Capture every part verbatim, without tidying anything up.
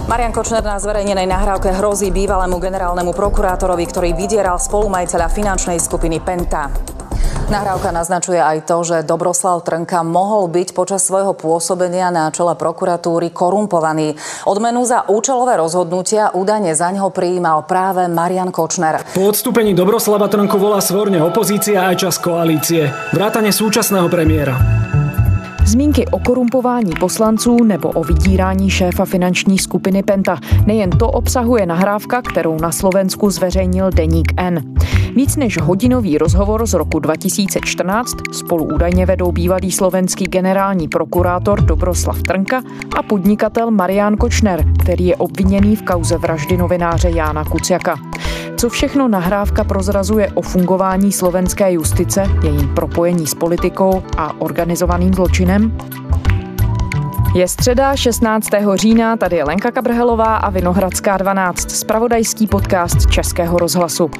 Marian Kočner na zverejnenej nahrávke hrozí bývalému generálnemu prokurátorovi, ktorý vydieral spolumajiteľa finančnej skupiny Penta. Nahrávka naznačuje aj to, že Dobroslav Trnka mohol byť počas svojho pôsobenia na čele prokuratúry korumpovaný. Odmenu za účelové rozhodnutia údajne zaňho prijímal práve Marian Kočner. Po odstúpení Dobroslava Trnku volá svorne opozícia aj časť koalície. Vrátane súčasného premiéra. Zmínky o korumpování poslanců nebo o vydírání šéfa finanční skupiny Penta. Nejen to obsahuje nahrávka, kterou na Slovensku zveřejnil deník N. Víc než hodinový rozhovor z roku dva tisíce čtrnáct spolu údajně vedou bývalý slovenský generální prokurátor Dobroslav Trnka a podnikatel Marian Kočner, který je obviněný v kauze vraždy novináře Jána Kuciaka. Co všechno nahrávka prozrazuje o fungování slovenské justice, jejím propojení s politikou a organizovaným zločinem? Je středa šestnáctého října, tady je Lenka Kabrhelová a Vinohradská dvanáct, zpravodajský podcast Českého rozhlasu.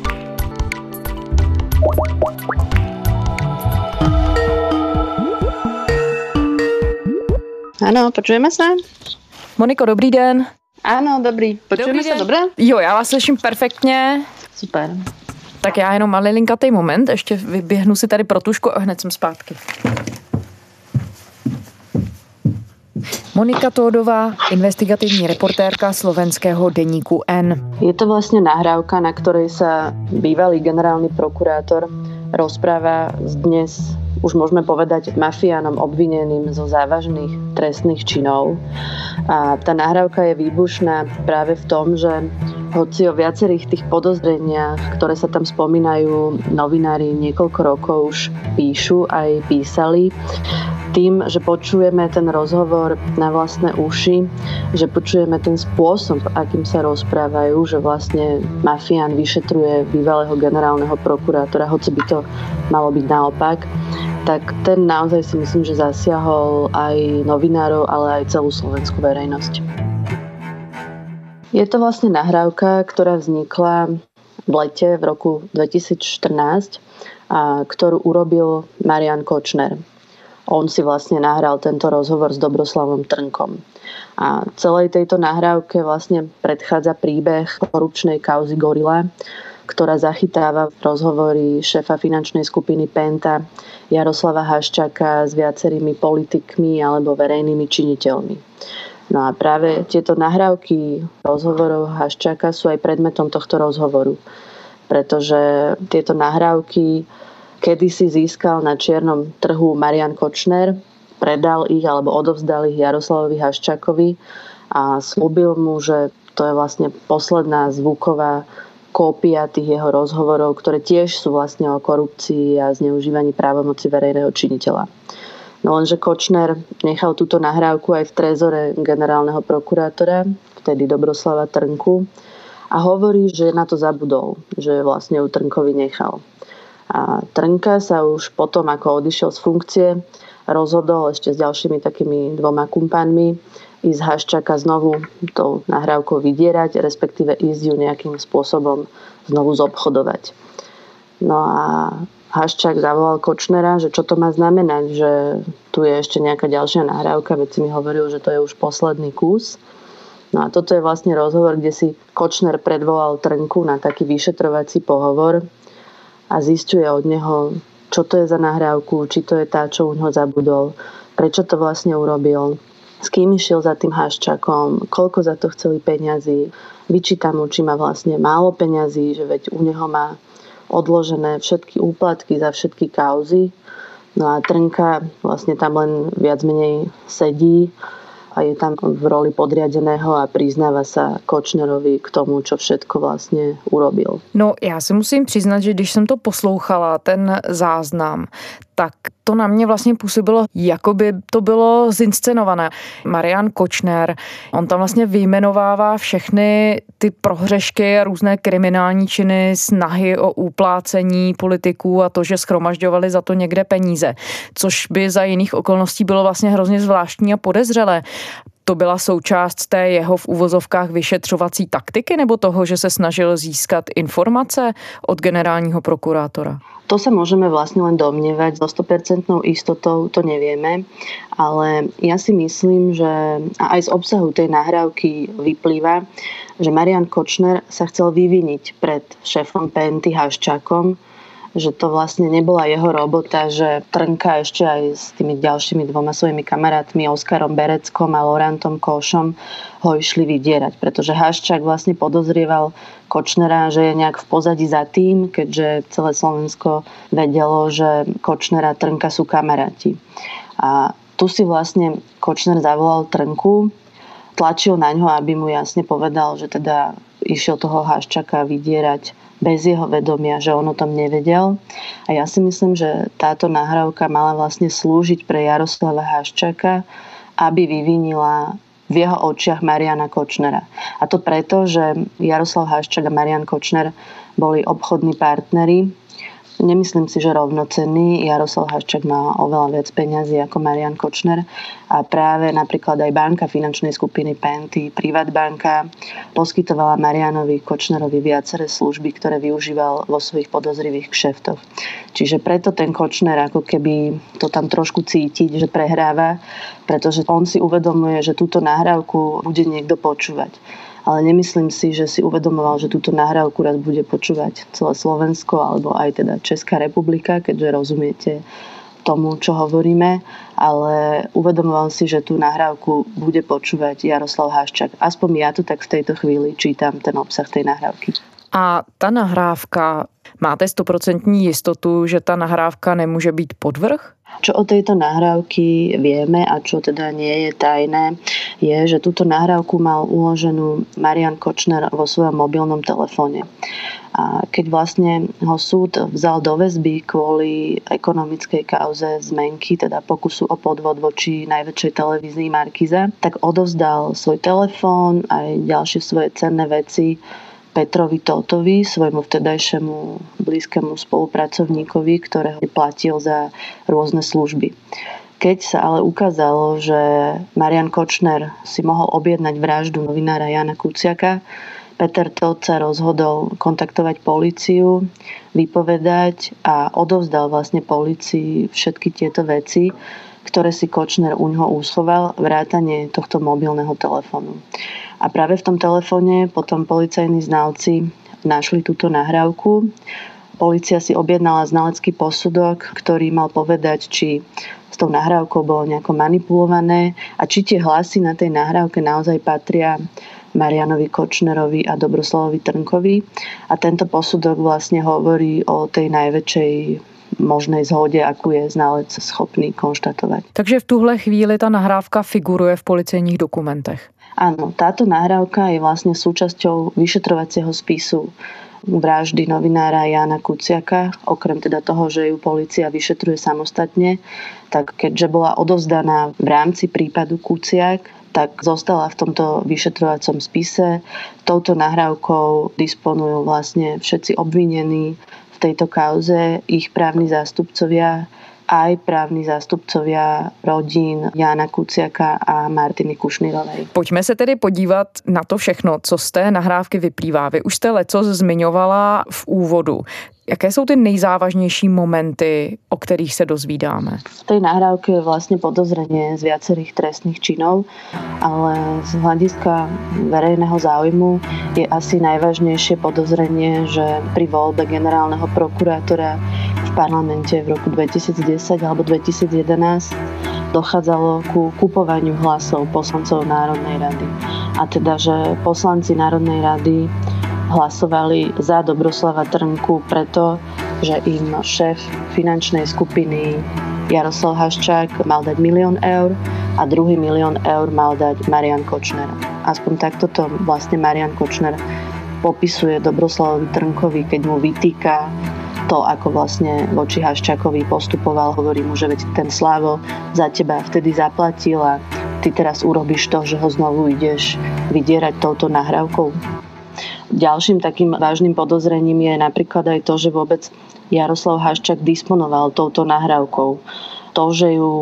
Áno, počujeme sa? Moniko, dobrý den. Áno, dobrý. Počujeme sa dobré? Jo, já vás slyším perfektně. Super. Tak já jenom malilinkatý moment, ještě vyběhnu si tady pro tušku a hned jsem zpátky. Monika Tódová, investigativní reportérka slovenského deníku N. Je to vlastne nahrávka, na ktorej sa bývalý generálny prokurátor rozpráva s dnes, už môžeme povedať, mafiánom obvineným zo závažných trestných činov. A tá nahrávka je výbušná práve v tom, že hoci o viacerých tých podozreniach, ktoré sa tam spomínajú, novinári niekoľko rokov už píšu, aj písali, tým, že počujeme ten rozhovor na vlastné uši, že počujeme ten spôsob, akým sa rozprávajú, že vlastne mafián vyšetruje bývalého generálneho prokurátora, hoci by to malo byť naopak, tak ten naozaj si myslím, že zasiahol aj novinárov, ale aj celú slovenskú verejnosť. Je to vlastne nahrávka, ktorá vznikla v lete v roku dvetisícštrnásť, a ktorú urobil Marian Kočner. On si vlastne nahral tento rozhovor s Dobroslavom Trnkom. A celej tejto nahrávke vlastne predchádza príbeh korupčnej kauzy Gorila, ktorá zachytáva rozhovory šéfa finančnej skupiny Penta Jaroslava Haščáka s viacerými politikmi alebo verejnými činiteľmi. No a práve tieto nahrávky rozhovorov Haščáka sú aj predmetom tohto rozhovoru, pretože tieto nahrávky kedysi získal na čiernom trhu Marian Kočner, predal ich alebo odovzdal ich Jaroslavovi Haščákovi a slúbil mu, že to je vlastne posledná zvuková kópia tých jeho rozhovorov, ktoré tiež sú vlastne o korupcii a zneužívaní právomoci verejného činiteľa. No lenže Kočner nechal túto nahrávku aj v trezore generálneho prokurátora, vtedy Dobroslava Trnku, a hovorí, že na to zabudol, že vlastne ju Trnkovi nechal. A Trnka sa už potom, ako odišiel z funkcie, rozhodol ešte s ďalšími takými dvoma kumpánmi ísť Haščáka znovu tou nahrávkou vydierať, respektíve ísť ju nejakým spôsobom znovu zobchodovať. No a Haščák zavolal Kočnera, že čo to má znamenať, že tu je ešte nejaká ďalšia nahrávka, veď si mi hovoril, že to je už posledný kus. No a toto je vlastne rozhovor, kde si Kočner predvolal Trnku na taký vyšetrovací pohovor a zisťuje od neho, čo to je za nahrávku, či to je tá, čo u neho zabudol, prečo to vlastne urobil, s kým išiel za tým Haščákom, koľko za to chceli peňazí, vyčíta mu, či má vlastne málo peňazí, že veď u neho má odložené všetky úplatky za všetky kauzy. No a Trnka vlastne tam len viac menej sedí a je tam v roli podriadeného a priznáva sa Kočnerovi k tomu, čo všetko vlastne urobil. No, já si musím přiznat, že když jsem to poslouchala, ten záznam, tak to na mě vlastně působilo, jako by to bylo zinscenované. Marian Kočner, on tam vlastně vyjmenovává všechny ty prohřešky a různé kriminální činy, snahy o uplácení politiků a to, že shromažďovali za to někde peníze, což by za jiných okolností bylo vlastně hrozně zvláštní a podezřelé. To byla součást té jeho v uvozovkách vyšetřovací taktiky nebo toho, že se snažil získat informace od generálního prokurátora? To sa môžeme vlastne len domnievať, so sto percent istotou to nevieme, ale ja si myslím, že a aj z obsahu tej nahrávky vyplýva, že Marian Kočner sa chcel vyviniť pred šéfom Penty Haščákom, že to vlastne nebola jeho robota, že Trnka ešte aj s tými ďalšími dvoma svojimi kamarátmi, Oskarom Bereckom a Laurentom Košom, ho išli vydierať, pretože Haščák vlastne podozrieval Kočnera, že je nejak v pozadí za tým, keďže celé Slovensko vedelo, že Kočner a Trnka sú kamaráti. A tu si vlastne Kočner zavolal Trnku, tlačil na ňo, aby mu jasne povedal, že teda išiel toho Haščáka vydierať bez jeho vedomia, že on o tom nevedel. A ja si myslím, že táto nahrávka mala vlastne slúžiť pre Jaroslava Haščáka, aby vyvinila v jeho očiach Mariana Kočnera. A to preto, že Jaroslav Haščák a Marian Kočner boli obchodní partneri. Nemyslím si, že rovnocenný. Jaroslav Haščák má oveľa viac peňazí ako Marian Kočner a práve napríklad aj banka finančnej skupiny Penty, Privatbanka, poskytovala Marianovi Kočnerovi viaceré služby, ktoré využíval vo svojich podozrivých kšeftoch. Čiže preto ten Kočner ako keby to tam trošku cítiť, že prehráva, pretože on si uvedomuje, že túto nahrávku bude niekto počúvať. Ale nemyslím si, že si uvedomoval, že túto nahrávku raz bude počúvať celé Slovensko alebo aj teda Česká republika, keďže rozumiete tomu, čo hovoríme, ale uvedomoval si, že tú nahrávku bude počúvať Jaroslav Haščák. Aspoň ja to tak v tejto chvíli čítam, ten obsah tej nahrávky. A ta nahrávka, máte stoprocentní jistotu, že ta nahrávka nemůže být podvrh? Čo o tejto nahrávky vieme a čo teda nie je tajné, je, že túto nahrávku mal uloženú Marian Kočner vo svojom mobilnom telefóne. A keď vlastne ho súd vzal do väzby kvôli ekonomickej kauze zmenky, teda pokusu o podvod voči najväčšej televízii Markiza, tak odovzdal svoj telefón aj ďalšie svoje cenné veci Petrovi Tótovi, svojmu vtedajšiemu blízkemu spolupracovníkovi, ktorého platil za rôzne služby. Keď sa ale ukázalo, že Marian Kočner si mohol objednať vraždu novinára Jána Kuciaka, Peter Tóth sa rozhodol kontaktovať políciu, vypovedať a odovzdal vlastne polícii všetky tieto veci, ktoré si Kočner uňho úschoval, vrátane tohto mobilného telefónu. A práve v tom telefóne potom policajní znalci našli túto nahrávku. Polícia si objednala znalecký posudok, ktorý mal povedať, či s tou nahrávkou bolo nejako manipulované a či tie hlasy na tej nahrávke naozaj patria Marianovi Kočnerovi a Dobroslavovi Trnkovi. A tento posudok vlastne hovorí o tej najväčšej možnej zhode, akú je znalec schopný konštatovať. Takže v tuhle chvíli ta nahrávka figuruje v policejních dokumentech. Áno, táto nahrávka je vlastne súčasťou vyšetrovacieho spisu vraždy novinára Jána Kuciaka. Okrem teda toho, že ju polícia vyšetruje samostatne, tak keďže bola odovzdaná v rámci prípadu Kuciak, tak zostala v tomto vyšetrovacom spise. Touto nahrávkou disponujú vlastne všetci obvinení v tejto kauze, ich právni zástupcovia, aj právni zástupcovia rodín Jána Kuciaka a Martiny Kušnírovej. Pojďme se tedy podívat na to všechno, co z té nahrávky vyplývá. Vy už jste lecos zmiňovala v úvodu. Jaké jsou ty nejzávažnější momenty, o kterých se dozvídáme? V tej nahrávke je vlastne podozrenie z viacerých trestných činov, ale z hľadiska verejného záujmu je asi najvážnejšie podozrenie, že pri voľbe generálneho prokurátora v parlamente v roku dvetisícdesať alebo dvetisícjedenásť dochádzalo ku kupovaniu hlasov poslancov Národnej rady. A teda, že poslanci Národnej rady hlasovali za Dobroslava Trnku preto, že im šéf finančnej skupiny Jaroslav Haščák mal dať milión eur a druhý milión eur mal dať Marian Kočner. Aspoň takto to vlastne Marian Kočner popisuje Dobroslavovi Trnkovi, keď mu vytýka to, ako vlastne voči Haščákovi postupoval. Hovorí mu, že veď ten Slavo za teba vtedy zaplatil a ty teraz urobíš to, že ho znovu ideš vydierať touto nahrávkou. Ďalším takým vážnym podozrením je napríklad aj to, že vôbec Jaroslav Haščák disponoval touto nahrávkou. To, že ju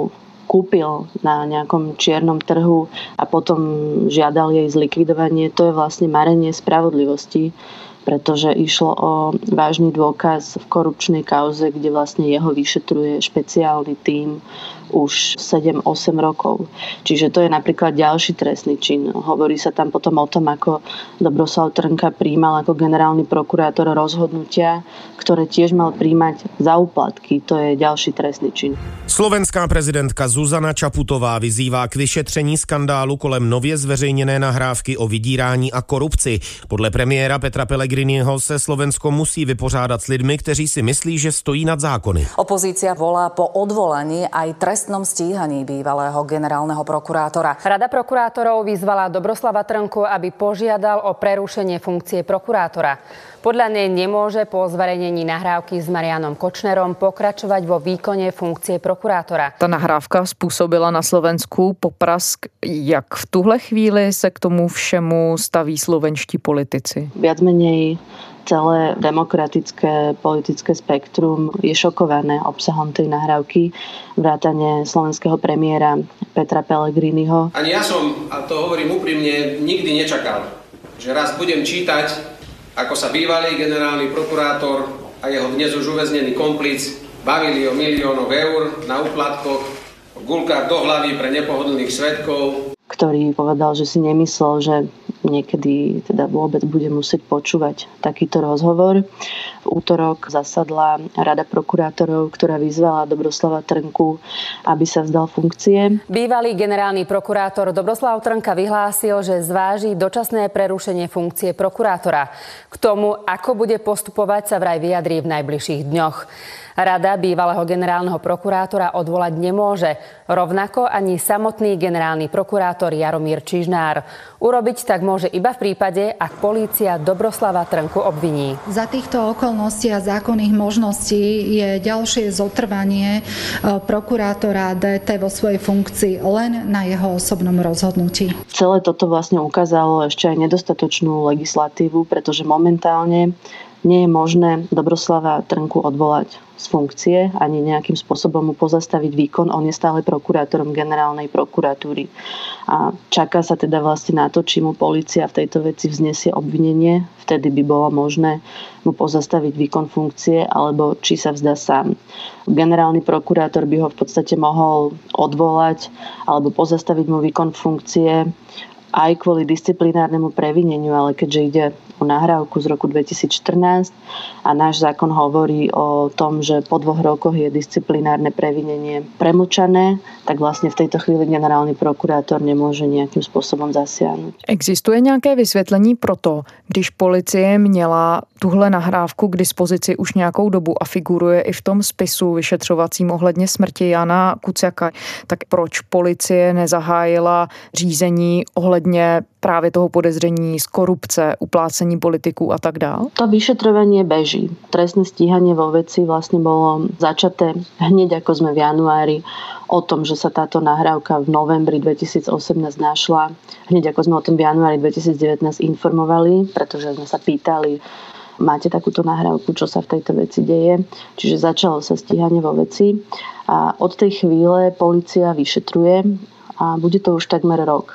kúpil na nejakom čiernom trhu a potom žiadal jej zlikvidovanie, to je vlastne marenie spravodlivosti, pretože išlo o vážny dôkaz v korupčnej kauze, kde vlastne jeho vyšetruje špeciálny tím už sedem osem rokov. Čiže to je napríklad ďalší trestný čin. Hovorí sa tam potom o tom, ako Dobroslav Trnka prijímal ako generálny prokurátor rozhodnutia, ktoré tiež mal prijímať za úplatky. To je ďalší trestný čin. Slovenská prezidentka Zuzana Čaputová vyzývá k vyšetření skandálu kolem nově zveřejněné nahrávky o vydírání a korupci. Podle premiéra Petra Pellegriniho se Slovensko musí vypořádat s lidmi, kteří si myslí, že stojí nad zákony. Opozícia volá po odvolaní aj trestnom stíhaní bývalého generálneho prokurátora. Rada prokurátorov vyzvala Dobroslava Trnku, aby požiadal o prerušenie funkcie prokurátora. Podľa nej nemôže po zverejnení nahrávky s Marianom Kočnerom pokračovať vo výkone funkcie prokurátora. Ta nahrávka způsobila na Slovensku poprask. Jak v tuhle chvíli se k tomu všemu staví slovenští politici? Viac menej celé demokratické politické spektrum je šokované obsahom tej nahrávky, vrátane slovenského premiéra Petra Pellegriniho. Ani ja som, a to hovorím úprimne, nikdy nečakal, že raz budem čítať, ako sa bývalý generálny prokurátor a jeho dnes už uväznený komplic bavili o miliónoch eur na úplatkoch, o guľkách do hlavy pre nepohodlných svedkov. Ktorý povedal, že si nemyslel, že niekedy teda vôbec bude musieť počúvať takýto rozhovor. V útorok zasadla Rada prokurátorov, ktorá vyzvala Dobroslava Trnku, aby sa vzdal funkcie. Bývalý generálny prokurátor Dobroslav Trnka vyhlásil, že zváži dočasné prerušenie funkcie prokurátora. K tomu, ako bude postupovať, sa vraj vyjadrí v najbližších dňoch. Rada bývalého generálneho prokurátora odvolať nemôže. Rovnako ani samotný generálny prokurátor Jaromír Čižnár. Urobiť tak môže iba v prípade, ak polícia Dobroslava Trnku obviní. Za týchto okolností a zákonných možností je ďalšie zotrvanie prokurátora dé té vo svojej funkcii len na jeho osobnom rozhodnutí. Celé toto vlastne ukázalo ešte aj nedostatočnú legislatívu, pretože momentálne nie je možné Dobroslava Trnku odvolať z funkcie ani nejakým spôsobom mu pozastaviť výkon. On je stále prokurátorom generálnej prokuratúry. A čaká sa teda vlastne na to, či mu polícia v tejto veci vznesie obvinenie. Vtedy by bolo možné mu pozastaviť výkon funkcie, alebo či sa vzdá sám. Generálny prokurátor by ho v podstate mohol odvolať alebo pozastaviť mu výkon funkcie aj kvôli disciplinárnemu previneniu, ale keďže ide o nahrávku z roku dvetisícštrnásť a náš zákon hovorí o tom, že po dvoch rokoch je disciplinárne previnenie premlčané, tak vlastne v tejto chvíli generálny prokurátor nemôže nejakým spôsobom zasiahnuť. Existuje nějaké vysvětlení pro to, když policie měla tuhle nahrávku k dispozici už nějakou dobu a figuruje i v tom spisu vyšetřovacím ohledně smrti Jana Kuciaka, tak proč policie nezahájila řízení ohledně právě toho podezření z korupce, uplácení politiků a tak dál? To vyšetrovanie beží. Trestné stíhanie vo veci vlastne bolo začaté hneď ako sme v januári o tom, že sa táto nahrávka v novembri dvetisícosemnásť našla. Hneď ako sme o tom v januári dvetisícdevätnásť informovali, pretože sme sa pýtali, máte takúto nahrávku, čo sa v tejto veci deje. Čiže začalo sa stíhanie vo veci a od tej chvíle polícia vyšetruje a bude to už takmer rok.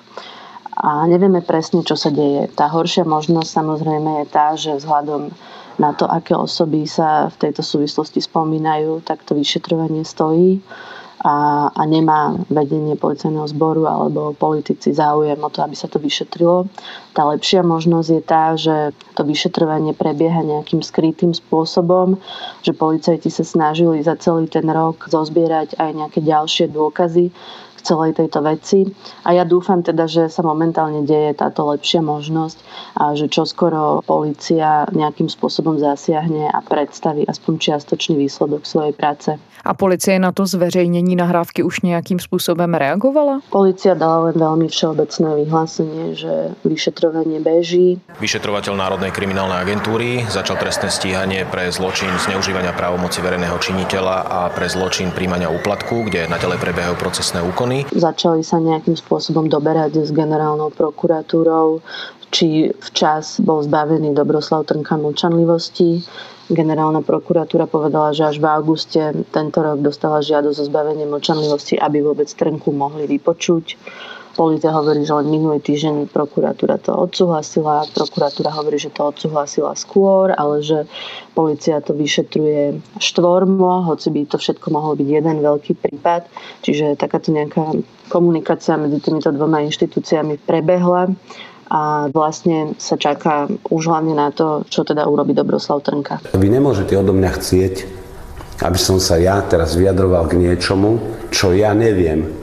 A nevieme presne, čo sa deje. Tá horšia možnosť samozrejme je tá, že vzhľadom na to, aké osoby sa v tejto súvislosti spomínajú, tak to vyšetrovanie stojí a, a nemá vedenie policajného zboru alebo politici záujem o to, aby sa to vyšetrilo. Tá lepšia možnosť je tá, že to vyšetrovanie prebieha nejakým skrytým spôsobom, že policajti sa snažili za celý ten rok zozbierať aj nejaké ďalšie dôkazy celej tejto veci. A ja dúfam teda, že sa momentálne deje táto lepšia možnosť a že čoskoro polícia nejakým spôsobom zasiahne a predstaví aspoň čiastočný výsledok svojej práce. A policie na to zveřejnění nahrávky už nějakým způsobem reagovala? Polícia dala len veľmi všeobecné vyhlásenie, že vyšetrovanie beží. Vyšetrovateľ Národnej kriminálnej agentúry začal trestné stíhanie pre zločin zneužívania právomoci verejného činiteľa a pre zločin príjmania úplatku, kde naďalej prebiehajú procesné úkony. zákony. Začali sa nejakým spôsobom doberať s generálnou prokuratúrou, či včas bol zbavený Dobroslav Trnka mlčanlivosti. Generálna prokuratúra povedala, že až v auguste tento rok dostala žiadosť o zbavenie mlčanlivosti, aby vôbec Trnku mohli vypočuť. Polícia hovorí, že len minulý týždeň prokuratúra to odsúhlasila. Prokuratúra hovorí, že to odsúhlasila skôr, ale že polícia to vyšetruje štvormo, hoci by to všetko mohol byť jeden veľký prípad. Čiže takáto nejaká komunikácia medzi týmito dvoma inštitúciami prebehla a vlastne sa čaká už hlavne na to, čo teda urobí Dobroslav Trnka. Vy nemôžete odo mňa chcieť, aby som sa ja teraz vyjadroval k niečomu, čo ja neviem,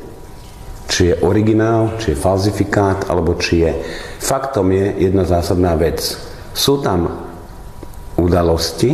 či je originál, či je falzifikát, alebo či je. Faktom je jedna zásadná vec. Sú tam udalosti,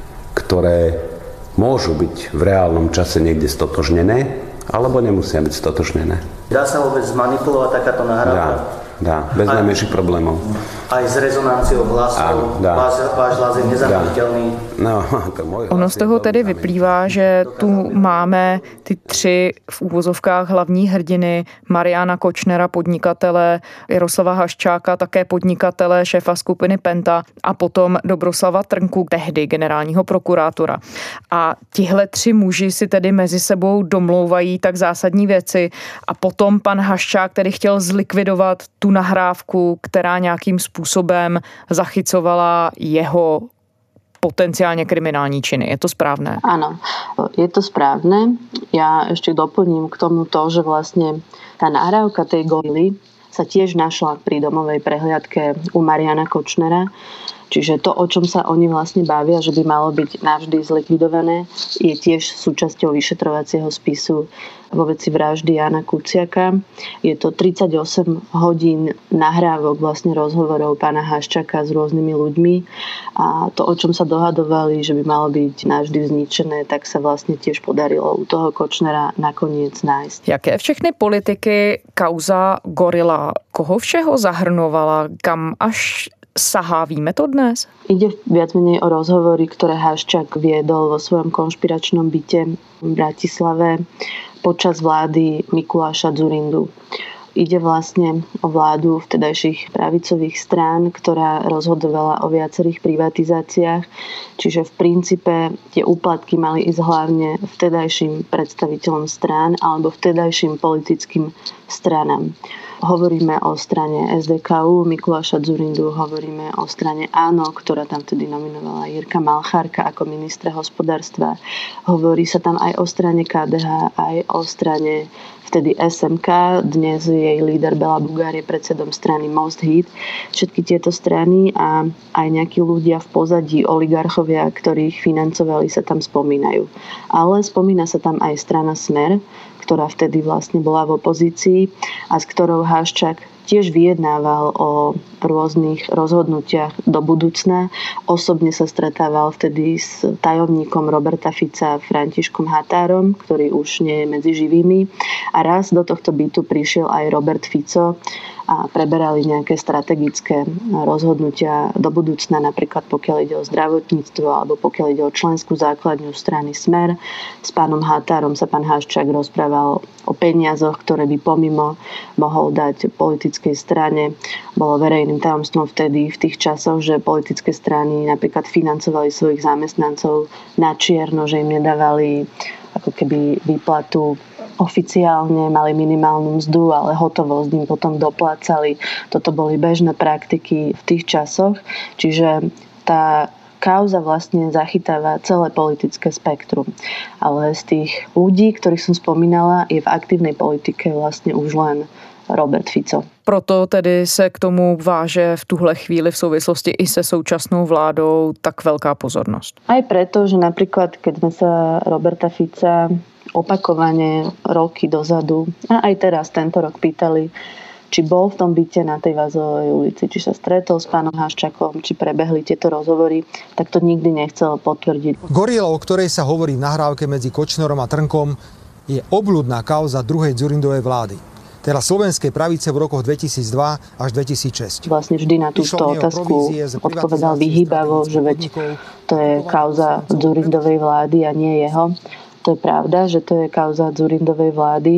ktoré môžu byť v reálnom čase niekde stotožnené, alebo nemusia byť stotožnené. Dá sa vôbec zmanipulovať takáto nahrávka? Dá, bez najmenších problémov. Aj s rezonanciou hlasov, váš, váš hlas je nezamítiteľný. No, to môj ono z toho tedy vyplývá, že tu máme ty tři v úvozovkách hlavní hrdiny, Mariana Kočnera, podnikatele, Jaroslava Haščáka, také podnikatele, šéfa skupiny Penta a potom Dobroslava Trnku, tehdy generálního prokurátora. A tihle tři muži si tedy mezi sebou domlouvají tak zásadní věci a potom pan Haščák tedy chtěl zlikvidovat tu nahrávku, která nějakým způsobem zachycovala jeho potenciálne kriminální činy. Je to správné? Áno, je to správne. Ja ešte doplním k tomu to, že vlastne tá nahrávka tej gorily sa tiež našla pri domovej prehliadke u Mariana Kočnera. Čiže to, o čom sa oni vlastne bavia, že by malo byť navždy zlikvidované, je tiež súčasťou vyšetrovacieho spisu vo veci vraždy Jána Kuciaka. Je to tridsaťosem hodín nahrávok, vlastne rozhovorov pána Haščáka s rôznymi ľuďmi a to, o čom sa dohadovali, že by malo byť navždy zničené, tak sa vlastne tiež podarilo u toho Kočnera nakoniec nájsť. Jaké všechny politiky kauza Gorila, koho všeho zahrnovala, kam až sahá, víme to dnes? Ide viac menej o rozhovory, ktoré Haščák viedol vo svojom konšpiračnom byte v Bratislave počas vlády Mikuláša Dzurindu. Ide vlastne o vládu vtedajších pravicových strán, ktorá rozhodovala o viacerých privatizáciách. Čiže v princípe tie úplatky mali ísť hlavne vtedajším predstaviteľom strán alebo vtedajším politickým stranám. Hovoríme o strane es dé ká ú Mikuláša Dzurindu, hovoríme o strane Áno, ktorá tam vtedy nominovala Jirka Malchárka ako ministra hospodárstva. Hovorí sa tam aj o strane ká dé há, aj o strane vtedy es em ká, dnes jej líder Bela Bugár je predsedom strany Most Hit. Všetky tieto strany a aj nejakí ľudia v pozadí, oligarchovia, ktorých financovali, sa tam spomínajú. Ale spomína sa tam aj strana Smer, ktorá vtedy vlastne bola v opozícii a s ktorou Haščák tiež vyjednával o rôznych rozhodnutiach do budúcna. Osobne sa stretával vtedy s tajomníkom Roberta Fica Františkom Határom, ktorý už nie je medzi živými. A raz do tohto bytu prišiel aj Robert Fico a preberali nejaké strategické rozhodnutia do budúcna, napríklad pokiaľ ide o zdravotníctvo alebo pokiaľ ide o členskú základňu strany Smer. S pánom Határom sa pán Haščák rozprával o peniazoch, ktoré by pomimo mohol dať politickej strane. Bolo verejným tajomstvom vtedy v tých časoch, že politické strany napríklad financovali svojich zamestnancov na čierno, že im nedávali ako keby výplatu oficiálne, mali minimálnu mzdu, ale hotovosť im potom doplácali. Toto boli bežné praktiky v tých časoch. Čiže tá kauza vlastne zachytáva celé politické spektrum. Ale z tých ľudí, ktorých som spomínala, je v aktívnej politike vlastne už len Robert Fico. Proto tedy se k tomu váže v tuhle chvíli v souvislosti i se současnou vládou tak veľká pozornosť. Aj preto, že napríklad, keď sme sa Roberta Fica opakovane roky dozadu a aj teraz tento rok pýtali, či bol v tom byte na tej Vazovej ulici, či sa stretol s pánom Haščákom, či prebehli tieto rozhovory, tak to nikdy nechcel potvrdiť. Gorila, o ktorej sa hovorí v nahrávke medzi Kočnerom a Trnkom, je obľudná kauza druhej Dzurindovej vlády. Teda slovenskej pravice v rokoch dvetisícdva až dvetisícšesť. Vlastne vždy na túto otázku odpovedal vyhýbavo, že veď to je kauza Dzurindovej vlády a nie jeho. To je pravda, že to je kauza Dzurindovej vlády,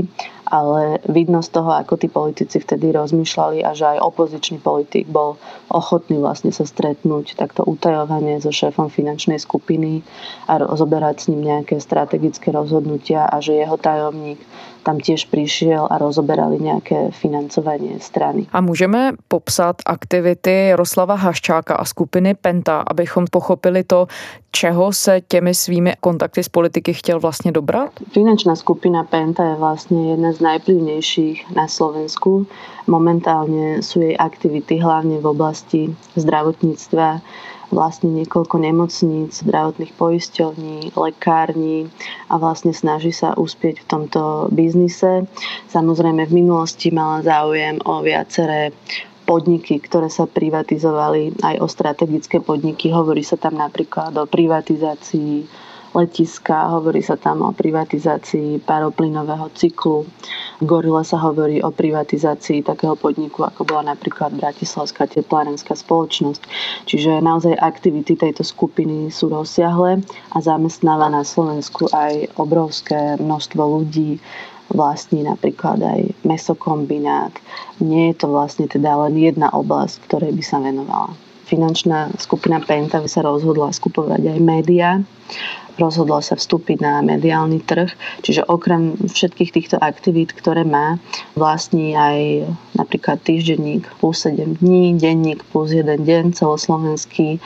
ale vidno z toho, ako tí politici vtedy rozmýšľali a že aj opozičný politik bol ochotný vlastne sa stretnúť takto utajovane so šéfom finančnej skupiny a rozoberať s ním nejaké strategické rozhodnutia a že jeho tajomník tam tiež prišiel a rozoberali nejaké financovanie strany. A můžeme popsat aktivity Jaroslava Haščáka a skupiny Penta, abychom pochopili to, čeho se těmi svými kontakty s politiky chtěl vlastně dobrat? Finančná skupina Penta je vlastne jedna z najvplyvnejších na Slovensku. Momentálne sú jej aktivity hlavne v oblasti zdravotníctva, vlastne niekoľko nemocníc, zdravotných poisťovní, lekární a vlastne snaží sa uspieť v tomto biznise. Samozrejme v minulosti mala záujem o viaceré podniky, ktoré sa privatizovali, aj o strategické podniky. Hovorí sa tam napríklad o privatizácii letiska, hovorí sa tam o privatizácii paroplynového cyklu. V Gorile sa hovorí o privatizácii takého podniku, ako bola napríklad Bratislavská teplárenská spoločnosť. Čiže naozaj aktivity tejto skupiny sú rozsiahle a zamestnáva na Slovensku aj obrovské množstvo ľudí, vlastní napríklad aj mäsokombinát. Nie je to vlastne teda len jedna oblasť, ktorej by sa venovala. Finančná skupina Penta by sa rozhodla skupovať aj médiá. Rozhodla sa vstúpiť na mediálny trh, čiže okrem všetkých týchto aktivít, ktoré má, vlastní aj napríklad týždenník plus sedem dní, denník plus jeden deň celoslovenský,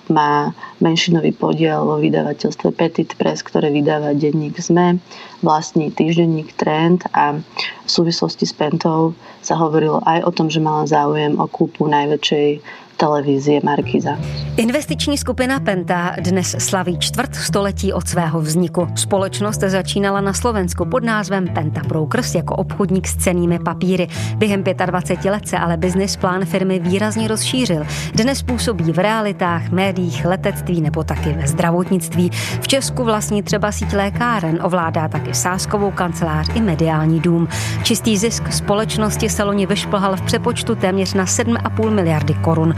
má menšinový podiel vo vydavateľstve Petit Press, ktoré vydáva denník es em e, vlastní týždenník Trend a v súvislosti s Pentou sa hovorilo aj o tom, že mala záujem o kúpu najväčšej televizie Markíza. Investiční skupina Penta dnes slaví čtvrt století od svého vzniku. Společnost začínala na Slovensku pod názvem Penta Brokers jako obchodník s cennými papíry. Během dvacet pět let se ale business plán firmy výrazně rozšířil. Dnes působí v realitách, médiích, letectví nebo taky ve zdravotnictví. V Česku vlastní třeba síť lékáren, ovládá taky sázkovou kancelář i mediální dům. Čistý zisk společnosti se loni vyšplhal v přepočtu téměř na sedm a půl miliardy korun.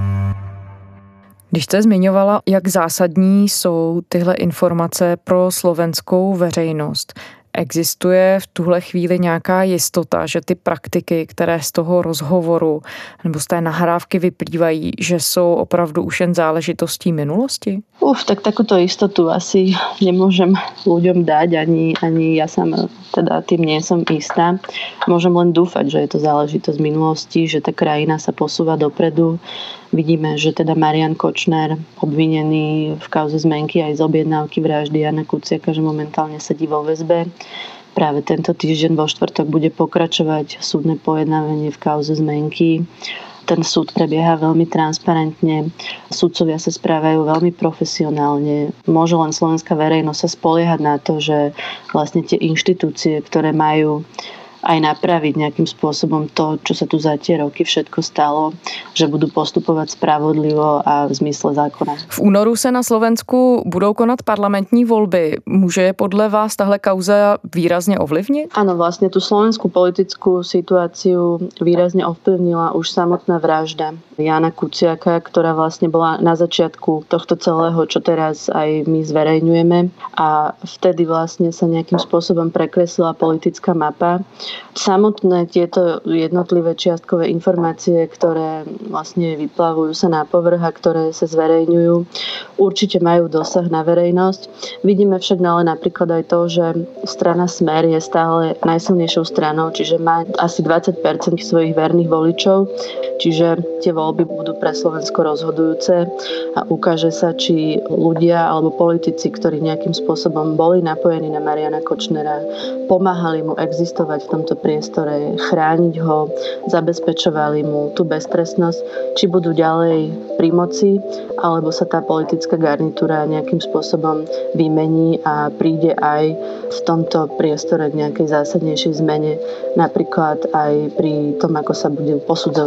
Když jste zmiňovala, jak zásadní jsou tyhle informace pro slovenskou veřejnost, existuje v tuhle chvíli nějaká jistota, že ty praktiky, které z toho rozhovoru nebo z té nahrávky vyplývají, že jsou opravdu už jen záležitostí minulosti? Uf, tak takúto istotu asi nemôžem ľuďom dať, ani, ani ja sama teda tým nie som istá. Môžem len dúfať, že je to záležitosť minulosti, že tá krajina sa posúva dopredu. Vidíme, že teda Marian Kočner, obvinený v kauze zmenky aj z objednávky vraždy Jana Kuciaka, že momentálne sedí vo väzbe. Práve tento týždeň vo štvrtok bude pokračovať súdne pojednávanie v kauze zmenky. Ten súd prebieha veľmi transparentne, sudcovia sa správajú veľmi profesionálne. Môže len slovenská verejnosť sa spoliehať na to, že vlastne tie inštitúcie, ktoré majú aj napraviť nejakým spôsobom to, čo sa tu za tie roky všetko stalo, že budú postupovať spravodlivo a v zmysle zákona. V únoru se na Slovensku budou konat parlamentní volby. Může podle vás tahle kauza výrazně ovlivnit? Áno, vlastne tú slovenskú politickú situáciu výrazne ovplyvnila už samotná vražda Jana Kuciaka, ktorá vlastne bola na začiatku tohto celého, čo teraz aj my zverejňujeme. A vtedy vlastne sa nejakým spôsobom prekreslila politická mapa. Samotné tieto jednotlivé čiastkové informácie, ktoré vlastne vyplavujú sa na povrch a ktoré sa zverejňujú, určite majú dosah na verejnosť. Vidíme však ale napríklad aj to, že strana Smer je stále najsilnejšou stranou, čiže má asi dvadsať percent svojich verných voličov, čiže tie voľby budú pre Slovensko rozhodujúce a ukáže sa, či ľudia alebo politici, ktorí nejakým spôsobom boli napojení na Mariana Kočnera, pomáhali mu existovať v tomto priestore, chrániť ho, zabezpečovali mu tú beztrestnosť, či budú ďalej pri moci, alebo sa tá politická garnitúra nejakým spôsobom vymení a príde aj v tomto priestore k nejakej zásadnejšej zmene, napríklad aj pri tom, ako sa bude posudzovať trestné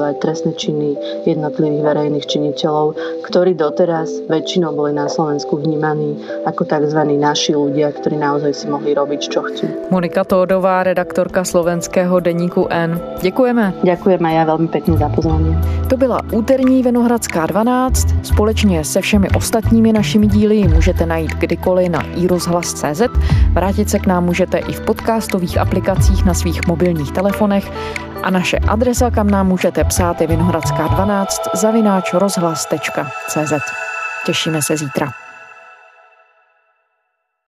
trestné činy jednotlivých verejných činiteľov, ktorí doteraz väčšinou boli na Slovensku vnímaní ako tzv. Naši ľudia, ktorí naozaj si mohli robiť, čo chcú. Monika Tódová, redaktorka slovenského deníku N. Děkujeme. Ďakujem a ja veľmi pekne za pozvanie. To byla úterní Vinohradská dvanáct. Společně se všemi ostatními našimi díly můžete najít kdykoliv na i rozhlas tečka cé zet. Vrátit se k nám můžete i v podcastových aplikacích na svých mobilních telefonech a naše adresa, kam nám můžete psát, je vinohradská dvanáct zavináč rozhlas tečka cé zet. Těšíme se zítra.